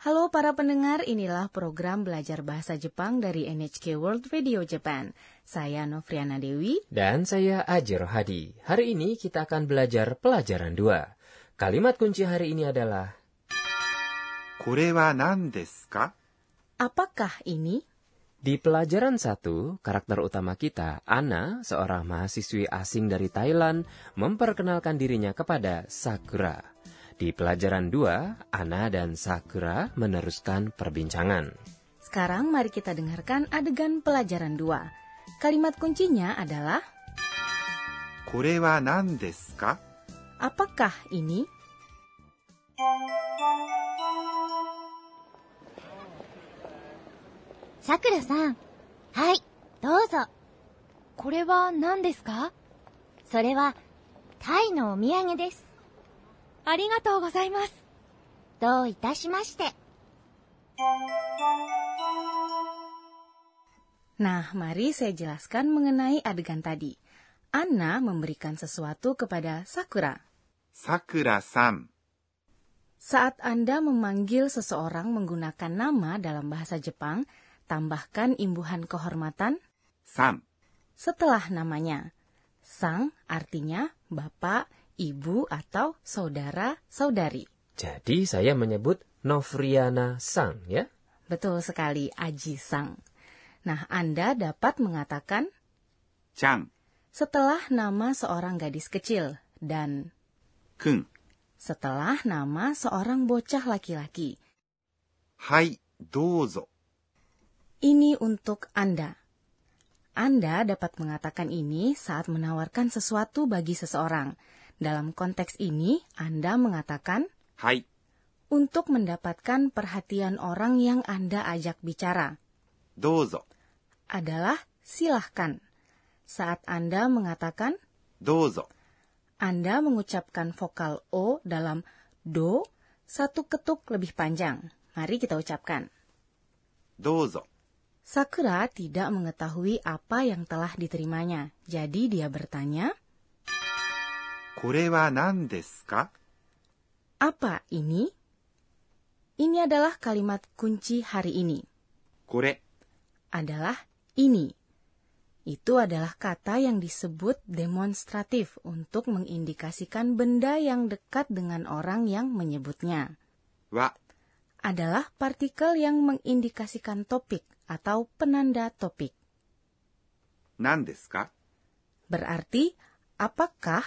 Halo para pendengar, inilah program belajar bahasa Jepang dari NHK World Radio Japan. Saya Novriana Dewi. Dan saya Aji Rohadi. Hari ini kita akan belajar pelajaran 2. Kalimat kunci hari ini adalah これは何ですか? Apakah ini? Di pelajaran 1, karakter utama kita, Anna, seorang mahasiswi asing dari Thailand, memperkenalkan dirinya kepada Sakura. Di pelajaran 2, Anna dan Sakura meneruskan perbincangan. Sekarang mari kita dengarkan adegan pelajaran 2. Kalimat kuncinya adalah これは何ですか? Apakah ini? Sakura-san. Hai, どうぞ。これは何ですか? それはタイのお土産です。ありがとうございます。どういたしまして。 Nah, mari saya jelaskan mengenai adegan tadi. Anna memberikan sesuatu kepada Sakura. さくらさん。 Saat Anda memanggil seseorang menggunakan nama dalam bahasa Jepang, tambahkan imbuhan kehormatan さん。 setelah namanya. Sang artinya bapak, ibu, atau saudara-saudari. Jadi saya menyebut Novriana Sang, ya? Betul sekali, Aji Sang. Nah, Anda dapat mengatakan ちゃん。 setelah nama seorang gadis kecil dan くん。 setelah nama seorang bocah laki-laki. はい、どうぞ。 Ini untuk Anda. Anda dapat mengatakan ini saat menawarkan sesuatu bagi seseorang. Dalam konteks ini, Anda mengatakan はい。 untuk mendapatkan perhatian orang yang Anda ajak bicara. どうぞ。 Adalah silahkan. Saat Anda mengatakan どうぞ。 Anda mengucapkan vokal O dalam do satu ketuk lebih panjang. Mari kita ucapkan. どうぞ。 Sakura tidak mengetahui apa yang telah diterimanya. Jadi dia bertanya, これは何ですか? apa ini? Ini adalah kalimat kunci hari ini. これ。 Adalah ini. Itu adalah kata yang disebut demonstratif untuk mengindikasikan benda yang dekat dengan orang yang menyebutnya. は。 Adalah partikel yang mengindikasikan topik atau penanda topik. 何ですか? Berarti, apakah?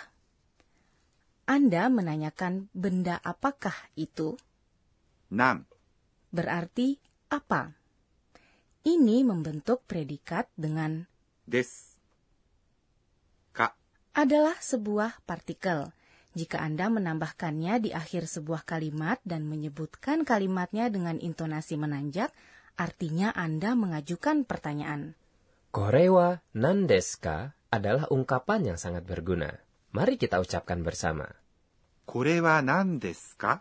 Anda menanyakan benda apakah itu? なん。 Berarti apa? Ini membentuk predikat dengan です。か。 adalah sebuah partikel. Jika Anda menambahkannya di akhir sebuah kalimat dan menyebutkan kalimatnya dengan intonasi menanjak, artinya Anda mengajukan pertanyaan. Korewa nandeska adalah ungkapan yang sangat berguna. Mari kita ucapkan bersama. これは何ですか?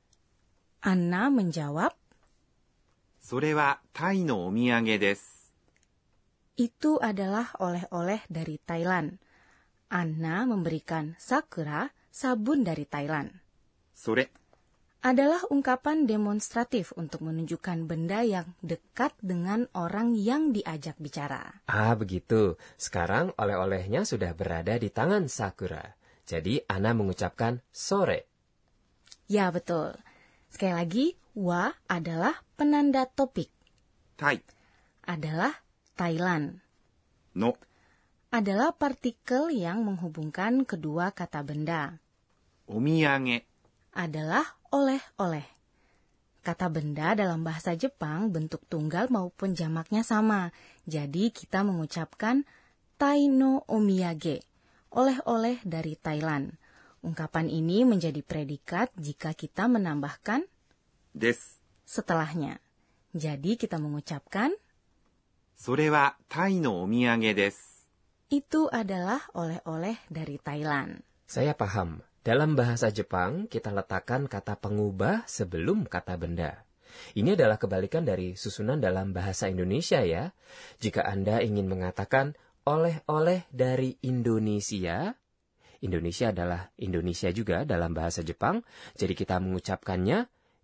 Anna menjawab, それはタイのお土産です。 itu adalah oleh-oleh dari Thailand. Anna memberikan Sakura sabun dari Thailand. それ。 Adalah ungkapan demonstratif untuk menunjukkan benda yang dekat dengan orang yang diajak bicara. Ah, begitu. Sekarang oleh-olehnya sudah berada di tangan Sakura. Jadi, Anna mengucapkan sore. Ya, betul. Sekali lagi, wa adalah penanda topik. タイ。 Adalah Thailand. の。 Adalah partikel yang menghubungkan kedua kata benda. お土産。 Adalah oleh-oleh. Kata benda dalam bahasa Jepang bentuk tunggal maupun jamaknya sama. Jadi kita mengucapkan tai no omiyage, oleh-oleh dari Thailand. Ungkapan ini menjadi predikat jika kita menambahkan です。 setelahnya. Jadi kita mengucapkan それはタイのお土産です。 itu adalah oleh-oleh dari Thailand. Saya paham. Dalam bahasa Jepang, kita letakkan kata pengubah sebelum kata benda. Ini adalah kebalikan dari susunan dalam bahasa Indonesia ya. Jika Anda ingin mengatakan oleh-oleh dari Indonesia, Indonesia adalah Indonesia juga dalam bahasa Jepang, jadi kita mengucapkannya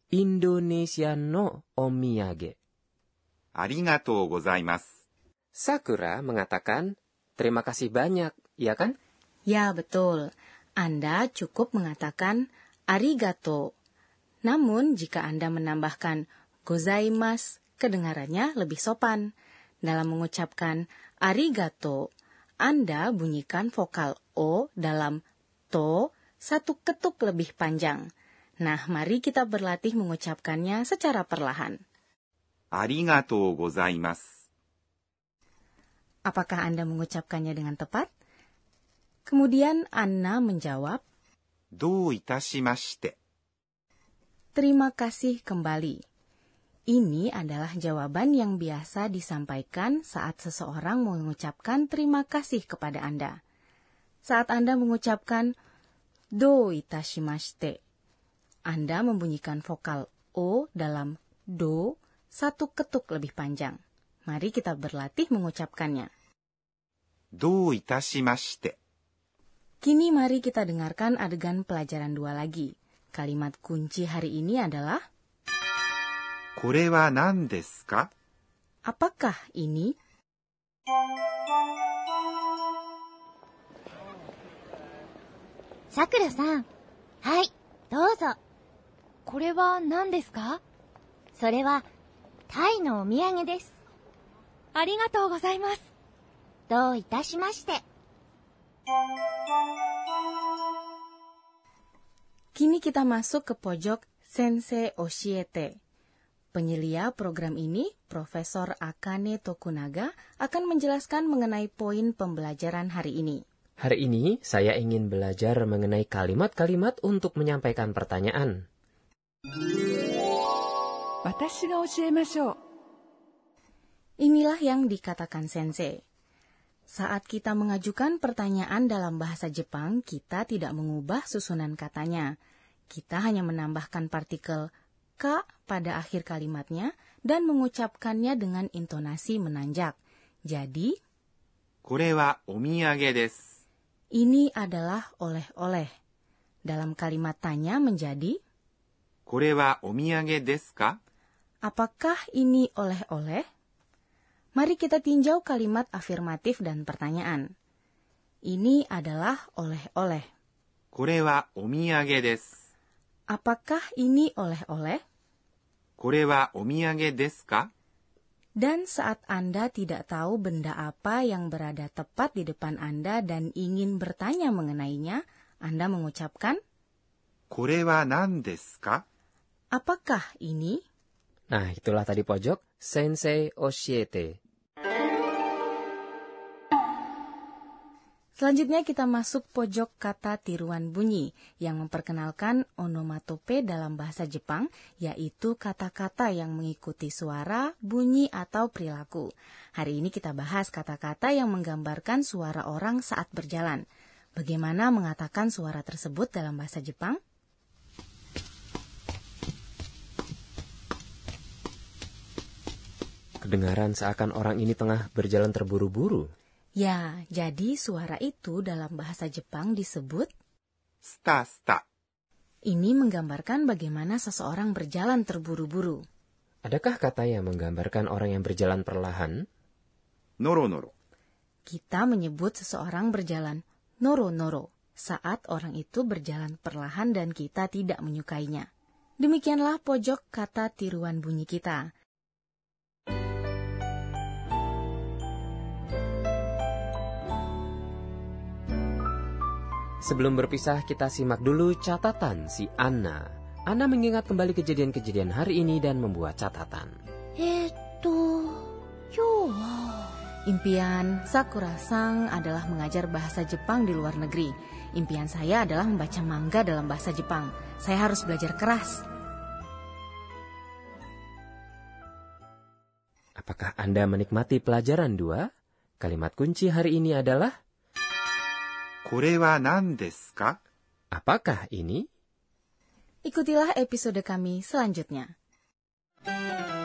Indonesia no omiyage. ありがとうございます。 Sakura mengatakan, terima kasih banyak, ya kan? Ya, betul. Anda cukup mengatakan arigato. Namun, jika Anda menambahkan gozaimasu, kedengarannya lebih sopan. Dalam mengucapkan arigato, Anda bunyikan vokal O dalam to satu ketuk lebih panjang. Nah, mari kita berlatih mengucapkannya secara perlahan. ありがとうございます。 Apakah Anda mengucapkannya dengan tepat? Kemudian Anna menjawab, どういたしまして。 terima kasih kembali. Ini adalah jawaban yang biasa disampaikan saat seseorang mengucapkan terima kasih kepada Anda. Saat Anda mengucapkan do itashimashite, Anda membunyikan vokal O dalam do satu ketuk lebih panjang. Mari kita berlatih mengucapkannya. どういたしまして。 Kini mari kita dengarkan adegan pelajaran 2 lagi. Kalimat kunci hari ini adalah これは何ですか? apakah ini? Sakura さん、はい、どうぞ。これは何ですか？それはタイのお土産です。ありがとうございます。どういたしまして。 Kini kita masuk ke pojok Sensei Oshiete. Penyelia program ini, Profesor Akane Tokunaga, akan menjelaskan mengenai poin pembelajaran hari ini. Hari ini saya ingin belajar mengenai kalimat-kalimat untuk menyampaikan pertanyaan. 私が教えましょう。 Inilah yang dikatakan Sensei. Saat kita mengajukan pertanyaan dalam bahasa Jepang, kita tidak mengubah susunan katanya. Kita hanya menambahkan partikel ka pada akhir kalimatnya dan mengucapkannya dengan intonasi menanjak. Jadi, これはお土産です。 ini adalah oleh-oleh. Dalam kalimat tanya menjadi, これはお土産ですか? apakah ini oleh-oleh? Mari kita tinjau kalimat afirmatif dan pertanyaan. Ini adalah oleh-oleh. これはお土産です。 Apakah ini oleh-oleh? これはお土産ですか? Dan saat Anda tidak tahu benda apa yang berada tepat di depan Anda dan ingin bertanya mengenainya, Anda mengucapkan, これは何ですか? apakah ini? Nah, itulah tadi pojok Sensei Oshiete. Selanjutnya kita masuk pojok kata tiruan bunyi yang memperkenalkan onomatope dalam bahasa Jepang, yaitu kata-kata yang mengikuti suara, bunyi, atau perilaku. Hari ini kita bahas kata-kata yang menggambarkan suara orang saat berjalan. Bagaimana mengatakan suara tersebut dalam bahasa Jepang? Kedengaran seakan orang ini tengah berjalan terburu-buru. Ya, jadi suara itu dalam bahasa Jepang disebut スタスタ。 ini menggambarkan bagaimana seseorang berjalan terburu-buru. Adakah kata yang menggambarkan orang yang berjalan perlahan? ノロノロ。 Kita menyebut seseorang berjalan noro-noro saat orang itu berjalan perlahan dan kita tidak menyukainya. Demikianlah pojok kata tiruan bunyi kita. Sebelum berpisah, kita simak dulu catatan si Anna. Anna mengingat kembali kejadian-kejadian hari ini dan membuat catatan. Impian Sakura-san adalah mengajar bahasa Jepang di luar negeri. Impian saya adalah membaca manga dalam bahasa Jepang. Saya harus belajar keras. Apakah Anda menikmati pelajaran 2? Kalimat kunci hari ini adalah これは何ですか? apakah ini? Ikutilah episode kami selanjutnya.